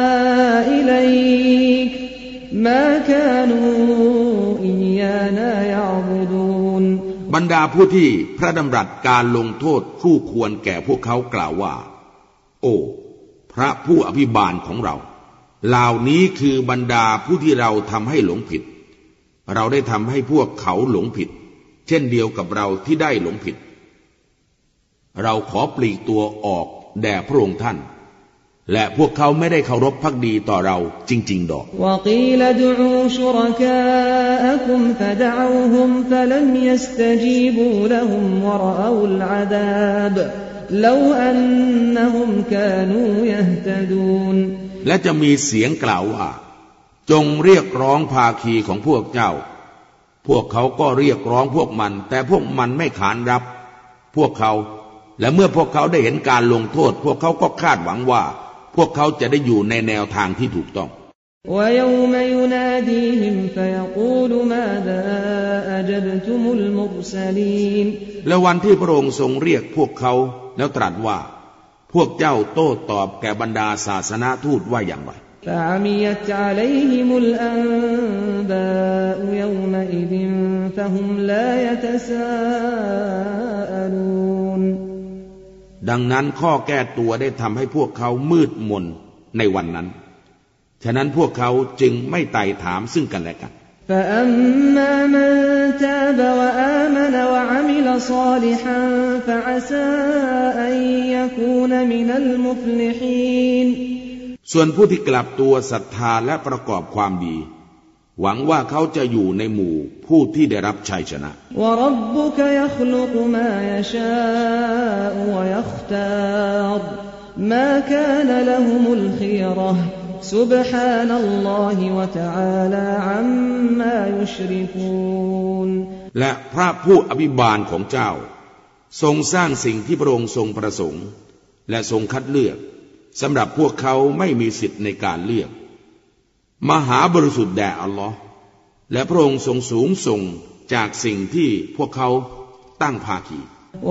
إليك ما كانوا إيانا يعبدون บรรดาผู้ที่พระดำรัสการลงโทษคู่ควรแก่พวกเขากล่าวว่าโอ้พระผู้อภิบาลของเราเหล่านี้คือบรรดาผู้ที่เราทำให้หลงผิดเราได้ทำให้พวกเขาหลงผิดเช่นเดียวกับเราที่ได้หลงผิดเราขอปลีกตัวออกแด่พระองค์ท่านและพวกเขาไม่ได้เคารพภักดีต่อเราจริงๆดอก وقيل ادعوا شركاءكم فدعوهم فلم يستجيبوا لهم ورأوا العذاب لو أنهم كانوا يهتدون และจะมีเสียงกล่าวว่าจงเรียกร้องภาคีของพวกเจ้าพวกเขาก็เรียกร้องพวกมันแต่พวกมันไม่ขานรับพวกเขาและเมื่อพวกเขาได้เห็นการลงโทษพวกเขาก็คาดหวังว่าพวกเขาจะได้อยู่ในแนวทางที่ถูกต้อง ويوم يناديهم فيقول ماذا أجبتم المرسلين และวันที่พระองค์ทรงเรียกพวกเขาแล้วตรัสว่าพวกเจ้าโต้ตอบแก่บรรดาศาสนาทูตว่าอย่างไร فعميت عليهم الأنباء يومئذ فهم لا يتساءلون ดังนั้นข้อแก้ตัวได้ทำให้พวกเขามืดมนในวันนั้นฉะนั้นพวกเขาจึงไม่ไต่ถามซึ่งกันและกัน فأما من تاب وآمن وعمل صالحا فعسى أن يكون من المفلحين ส่วนผู้ที่กลับตัวศรัทธาและประกอบความดีหวังว่าเขาจะอยู่ในหมู่ผู้ที่ได้รับชัยชนะ وَرَبُّكَ يَخْلُقُ مَا يَشَاءُ وَيَخْتَارُ مَا كَانَ لَهُمُ الْخِيَرَةُ سُبْحَانَ اللَّهِ وَتَعَالَى عَمَّا يُشْرِكُونَ และพระผู้อภิบาลของเจ้าทรงสร้างสิ่งที่พระองค์ทรงประสงค์และทรงคัดเลือกสำหรับพวกเขาไม่มีสิทธิ์ในการเลือกมหาบริสุทธิ์แด่อัลลอฮ์และพระองค์ทรงสูงส่งจากสิ่งที่พวกเขาตั้งภาคี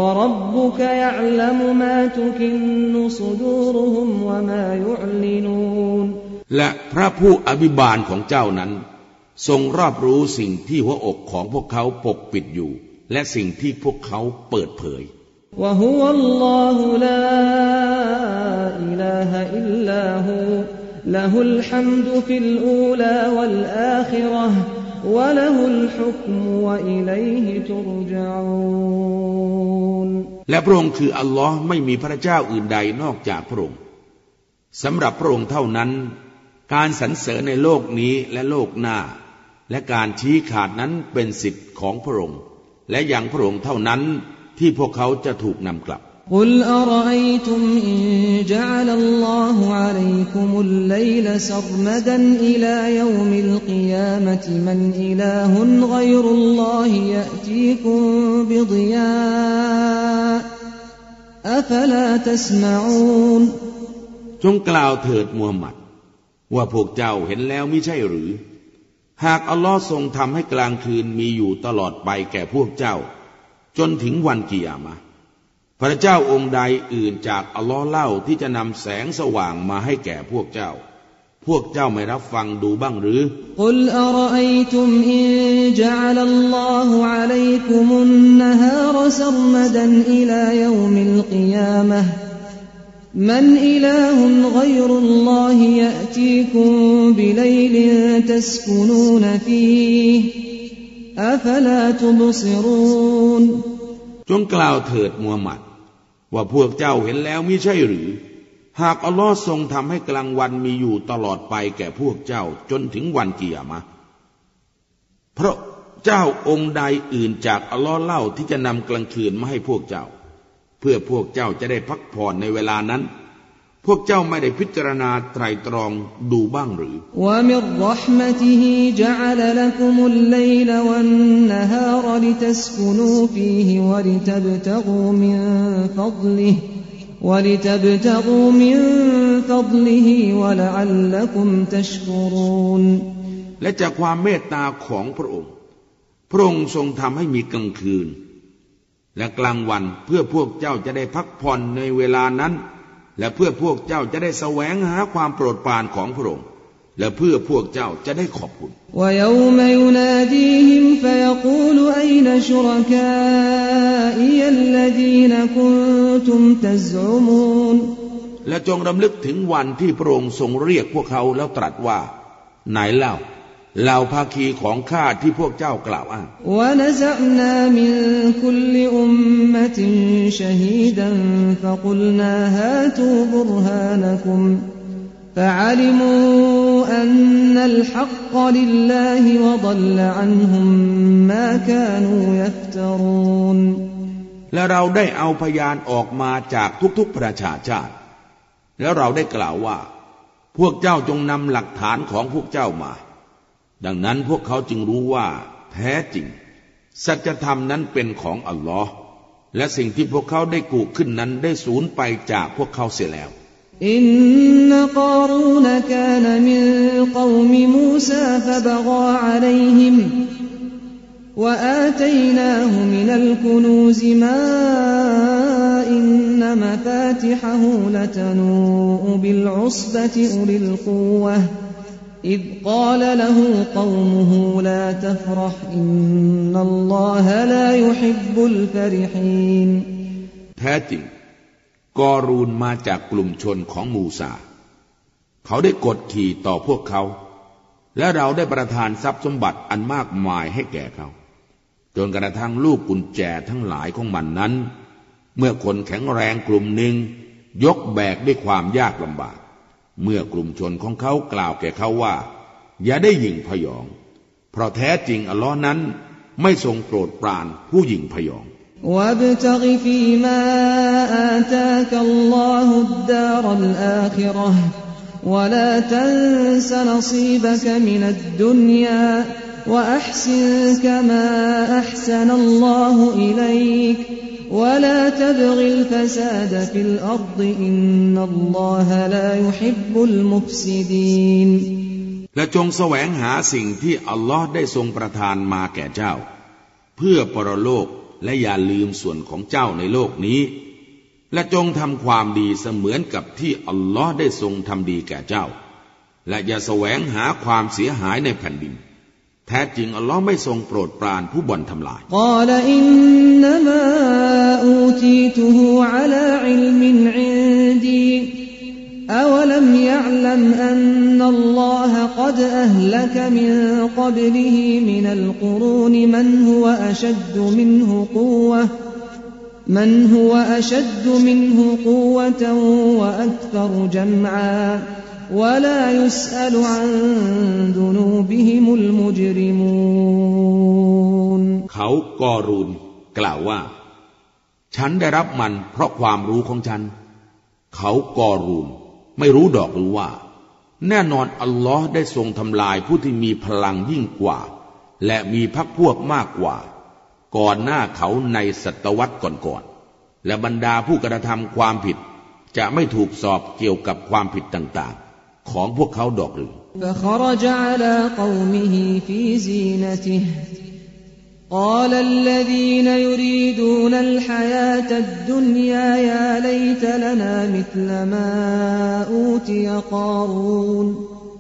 และพระผู้อภิบาลของเจ้านั้นทรงรอบรู้สิ่งที่หัวอกของพวกเขาปกปิดอยู่และสิ่งที่พวกเขาเปิดเผย له الحمد في الأولى والآخرة وله الحكم وإليه ترجعون และพระองค์คืออัลลอฮ์ไม่มีพระเจ้าอื่นใดนอกจากพระองค์สำหรับพระองค์เท่านั้นการสรรเสริญในโลกนี้และโลกหน้าและการชี้ขาดนั้นเป็นสิทธิ์ของพระองค์และอย่างพระองค์เท่านั้นที่พวกเขาจะถูกนำกลับ قل أرأيتم إن جعل الله عليكم الليل سرمدا إلى يوم القيامة من إله غير الله يأتيكم بضياء أفلا تسمعون จงกล่าวเถิดมูฮัมหมัดว่าพวกเจ้าเห็นแล้วมิใช่หรือหากอัลลอฮ์ทรงทำให้กลางคืนมีอยู่ตลอดไปแก่พวกเจ้าจนถึงวันกิยามะห์พระเจ้าองค์ใดอื่นจากอัลลอฮ์เล่าที่จะนำแสงสว่างมาให้แก่พวกเจ้าพวกเจ้าไม่รับฟังดูบ้างหรือกุลอะรอัยตุมอินญะอะลัลลอฮุอะลัยกุมุนนะฮารซัรมดันอิลายอมิลกิยามะฮ์มันอิลาฮุนฆอยรุลลอฮิยะตีกุมบิลัยลินตัสกุนูนฟีฮิอะฟะลาตุบศิรูนจงกล่าวเถิดมูฮัมหมัดว่าพวกเจ้าเห็นแล้วมิใช่หรือหากอัลลอฮ์ทรงทำให้กลางวันมีอยู่ตลอดไปแก่พวกเจ้าจนถึงวันกิยามะห์เพราะเจ้าองค์ใดอื่นจากอัลลอฮ์เล่าที่จะนำกลางคืนมาให้พวกเจ้าเพื่อพวกเจ้าจะได้พักผ่อนในเวลานั้นพวกเจ้าไม่ได้พิจารณาไตร่ตรองดูบ้างหรือวะมิรเราะห์มะติฮิจะอะละละกุมุลลัยลวันนะฮารลิตัสกุนูฟีฮิวะลิตับตะกูมินฟัฎลิฮิวะลิตับตะกูมินฟัฎลิฮิวะละอัลละกุมตัชกุรูนและจากความเมตตาของพระองค์พระองค์ทรงทำให้มีกลางคืนและกลางวันเพื่อพวกเจ้าจะได้พักผ่อนในเวลานั้นและเพื่อพวกเจ้าจะได้แสวงหาความโปรดปรานของพระองค์และเพื่อพวกเจ้าจะได้ขอบคุณและจงรำลึกถึงวันที่พระองค์ทรงเรียกพวกเขาแล้วตรัสว่าไหนเล่าเหล่าภาคีของข้าที่พวกเจ้ากล่าวอ้างและเราได้เอาพยานออกมาจากทุกๆประชาชาติแล้วเราได้กล่าวว่าพวกเจ้าจงนำหลักฐานของพวกเจ้ามาดังนั้นพวกเขาจึงรู้ว่าแท้จริงสัจธรรมนั้นเป็นของอัลลอฮ์และสิ่งที่พวกเขาได้กูขึ้นนั้นได้สูญไปจากพวกเขาเสียแล้วอินนกอรูนกานมินกอมมูซาฟะบะฆาอะลัยฮิมวะอาตัยนาฮูมินัลกุนูซมาอินนมะฟาติฮะฮูละตะนูบิลอุศบะติอุลิลกุวะإذ قال له قومه لا تفرح إن الله لا يحب الفرحين แท้จริงกอรูนมาจากกลุ่มชนของมูซาเขาได้กดขี่ต่อพวกเขาและเราได้ประทานทรัพย์สมบัติอันมากมายให้แก่เขาจนกระทั่งลูกกุญแจทั้งหลายของมันนั้นเมื่อคนแข็งแรงกลุ่มหนึ่งยกแบกด้วยความยากลำบากเมื่อกลุ่มชนของเขากล่าวแก่เขาว่าอย่าได้หยิ่งพยองเพราะแท้จริงอัลลอฮ์นั้นไม่ทรงโปรดปรานผู้หยิ่งพยองวับตะกิฟีมาอาตากัลลอฮุดดารัลอาคิเราะห์วะลาตันซะนซีบะกะมินัดดุนยาวะอัห์ซินกะมาอัห์ซะนัลลอฮุอิลัยกولا تبغ الفساد في الأرض إن الله لا يحب المفسدين และจงแสวงหาสิ่งที่อัลลอฮ์ได้ทรงประทานมาแก่เจ้าเพื่อปรโลกและอย่าลืมส่วนของเจ้าในโลกนี้และจงทำความดีเสมือนกับที่อัลลอฮ์ได้ทรงทำดีแก่เจ้าและอย่าแสวงหาความเสียหายในแผ่นดินแท้จริงอัลลอฮ์ไม่ทรงโปรดปรานผู้บ่อนทำลายกล่าวอินนัมาอูตีตุฮูอะลาอิลมินอินดีอวลัมยะอ์ลัมอันนัลลอฮะกอดอะห์ลักมินกับลิฮิมินัลกุรูนมันฮุวะอัชัดดุมินฮุกุวะมันฮุวะอัชัดดุมินฮุกุวะตันวะอักษรจัมอาولا يسأل عن ذنوبهم المجرمون เขากอรูนกล่าวว่าฉันได้รับมันเพราะความรู้ของฉันเขากอรูนไม่รู้ดอกหรือว่าแน่นอนอัลลอฮ์ได้ทรงทำลายผู้ที่มีพลังยิ่งกว่าและมีพรรคพวกมากกว่าก่อนหน้าเขาในศตวรรษก่อนๆและบรรดาผู้กระทำความผิดจะไม่ถูกสอบเกี่ยวกับความผิดต่างๆของพวกเขาดอกหรือ فخرج على قومه في زينته قال الذين يريدون الحياة الدنيا يا ليت لنا مثل ما أوتي قارون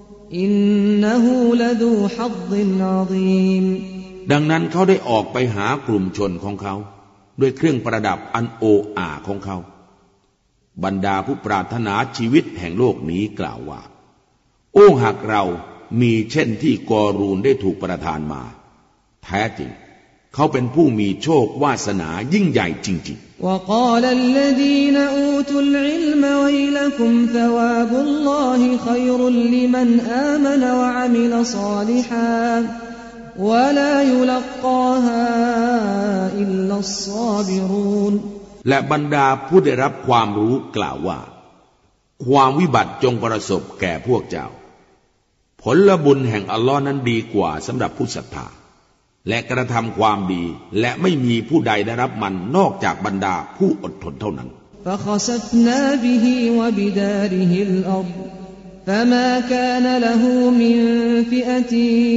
إنه لذو حظ عظيم ดังนั้นเขาได้ออกไปหากลุ่มชนของเขาด้วยเครื่องประดับอันโออาของเขาบรรดาผู้ปรารถนาชีวิตแห่งโลกนี้กล่าวว่าโอ้หากเรามีเช่นที่กอรูนได้ถูกประทานมาแท้จริงเขาเป็นผู้มีโชควาสนายิ่งใหญ่จริงๆ وقال الذين أوتوا العلم ويلكم ثواب الله خير لمن آمن وعمل صالحا ولا يلقاها إلا الصابرون และบรรดาผู้ได้รับความรู้กล่าวว่าความวิบัติจงประสบแก่พวกเจ้าผลบุญแห่งอัลลอฮ์นั้นดีกว่าสำหรับผู้ศรัทธาและกระทำความดีและไม่มีผู้ใดได้รับมันนอกจากบรรดาผู้อดทนเท่านั้น فخسفنا به وبداره الأرض فما كان له من فئة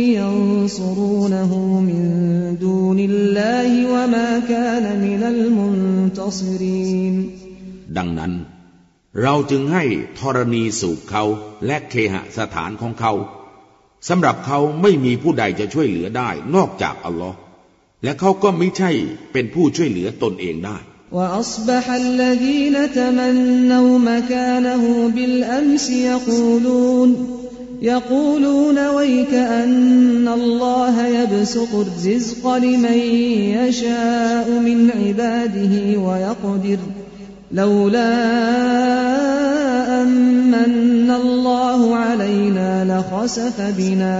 ينصرونه من دون الله وما كان من المنتصرين ดังนั้นเราจึงให้ธรณีสูบเขาและเคหสถานของเขาสำหรับเขาไม่มีผู้ใดจะช่วยเหลือได้นอกจากอัลลอฮ์และเขาก็ไม่ใช่เป็นผู้ช่วยเหลือตนเองได้ وأصبح الذين تمنوا مكانه بالأمس يقولون يقولون ويك أن الله يبسط الرزق لمن يشاء من عباده ويقدر لولا أمن الله علينا لخسف بنا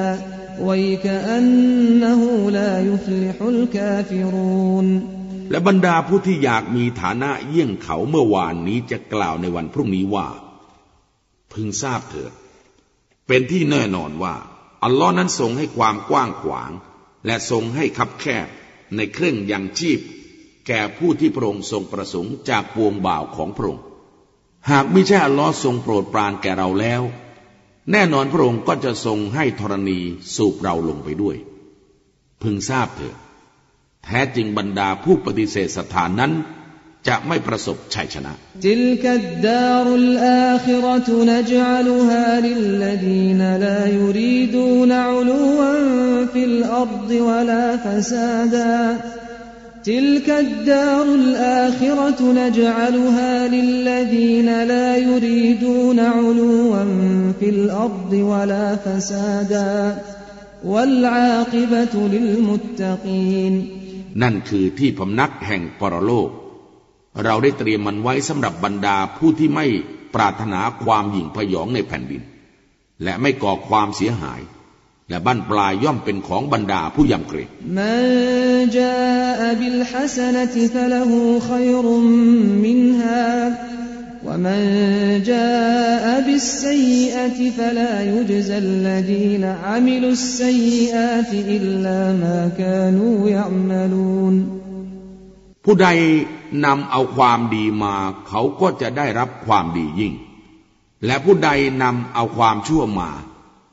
ويكأنه لا يفلح الكافرون และบรรดาผู้ที่อยากมีฐานะเยี่ยงเขาเมื่อวานนี้จะกล่าวในวันพรุ่งนี้ว่าพึงทราบเถิดเป็นที่แน่นอนว่าอัลลอฮ์นั้นทรงให้ความกว้างขวางและทรงให้คับแคบในเครื่องยังชีพแก่ผู้ที่พระองค์ทรงประสงค์จากปวงบ่าวของพระองค์หากไม่ใช่อัลลอฮ์ทรงโปรดปรานแก่เราแล้วแน่นอนพระองค์ก็จะทรงให้ธรณีสูบเราลงไปด้วยพึงทราบเถิดแท้จริงบรรดาผู้ปฏิเสธศรัทธานั้นจะไม่ประสบชัยชนะติลกัดดารุลอาคิเราะตุนจัลลุฮาลิลลดีนลายุรีดูนอุลูวันฟิลอัรฎิวะลาฟะซาดาتلك الدار الآخرة نجعلها للذين لا يريدون علوا في الأرض ولا فسادا والعاقبة للمتقين นั่นคือที่พำนักแห่งปรโลกเราได้เตรียมมันไว้สำหรับบรรดาผู้ที่ไม่ปรารถนาความหยิ่งพยองในแผ่นดินและไม่ก่อความเสียหายและบั้นปลายย่อมเป็นของบรรดาผู้ยำเกรงมันจาบิลฮัสนะติฟะละฮูขัยรุมมินฮาวะมันจาบิสซัยอะติฟะลายุจซัลลดีนอะมิลุสซัยอาติอิลลามากานูยะอ์มะลูนผู้ใดนำเอาความดีมาเขาก็จะได้รับความดียิ่งและผู้ใดนำเอาความชั่วมา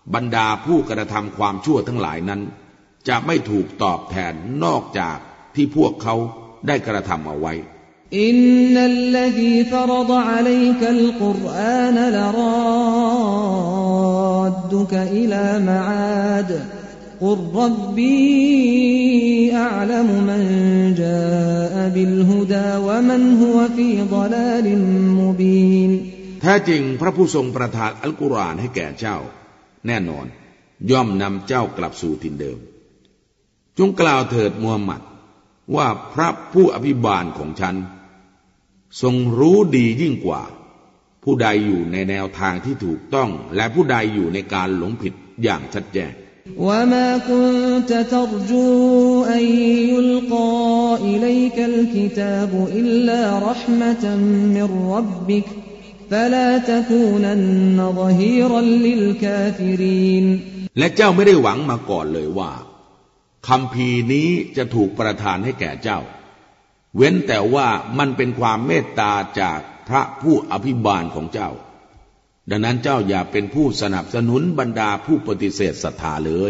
บรรดาผู้กระทำความชั่วทั้งหลายนั้นจะไม่ถูกตอบแทนนอกจากที่พวกเขาได้กระทำเอาไว้อินนัลลซีฟรฎอะลัยกัลกุรอานลรอดดุกอิลามะอาดกุรรับบีอัอลัมมันจาอะบิลฮุดาวะมันฮุวะฟีฎอลาลิมมุบีนแท้จริงพระผู้ทรงประทานอัลกุรอานให้แก่เจ้าแน่นอนย่อมนำเจ้ากลับสู่ถิ่นเดิมจงกล่าวเถิดมูฮัมหมัดว่าพระผู้อภิบาลของฉันทรงรู้ดียิ่งกว่าผู้ใดอยู่ในแนวทางที่ถูกต้องและผู้ใดอยู่ในการหลงผิดอย่างชัดแจ้ง وما كنت ترجو أن يلقى إليك الكتاب إلا رحمة من ربك فلا تكونن ظهيرا للكافرين และเจ้าไม่ได้หวังมาก่อนเลยว่าคัมภีร์นี้จะถูกประทานให้แก่เจ้าเว้นแต่ว่ามันเป็นความเมตตาจากพระผู้อภิบาลของเจ้าดังนั้นเจ้าอย่าเป็นผู้สนับสนุนบรรดาผู้ปฏิเสธศรัทธาเลย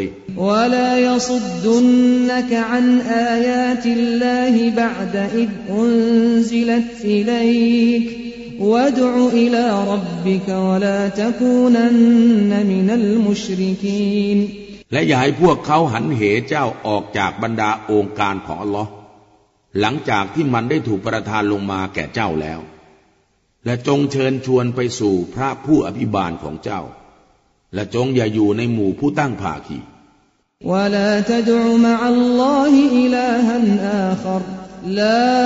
และอย่าให้พวกเขาหันเหเจ้าออกจากบรรดาองค์การของอัลลอฮ์หลังจากที่มันได้ถูกประทานลงมาแก่เจ้าแล้วและจงเชิญชวนไปสู่พระผู้อภิบาลของเจ้าและจงอย่าอยู่ในหมู่ผู้ตั้งภาคี ولا تدع مع الله إلها آخر لا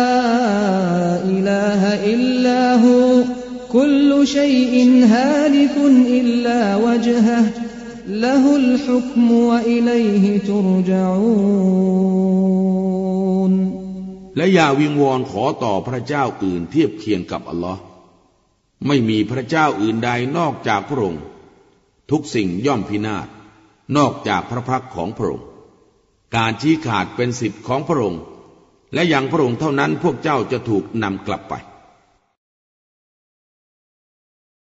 إله إلا هو كل شيء هالك إلا وجهه له الحكم وإليه ترجعون และอย่าวิงวอนขอต่อพระเจ้าอื่นเทียบเคียงกับอัลลอฮ์ไม่มีพระเจ้าอื่นใดนอกจากพระองค์ทุกสิ่งย่อมพินาศนอกจากพระพักของพระองค์การชี้ขาดเป็นสิทธิ์ของพระองค์และอย่างพระองค์เท่านั้นพวกเจ้าจะถูกนำกลับไป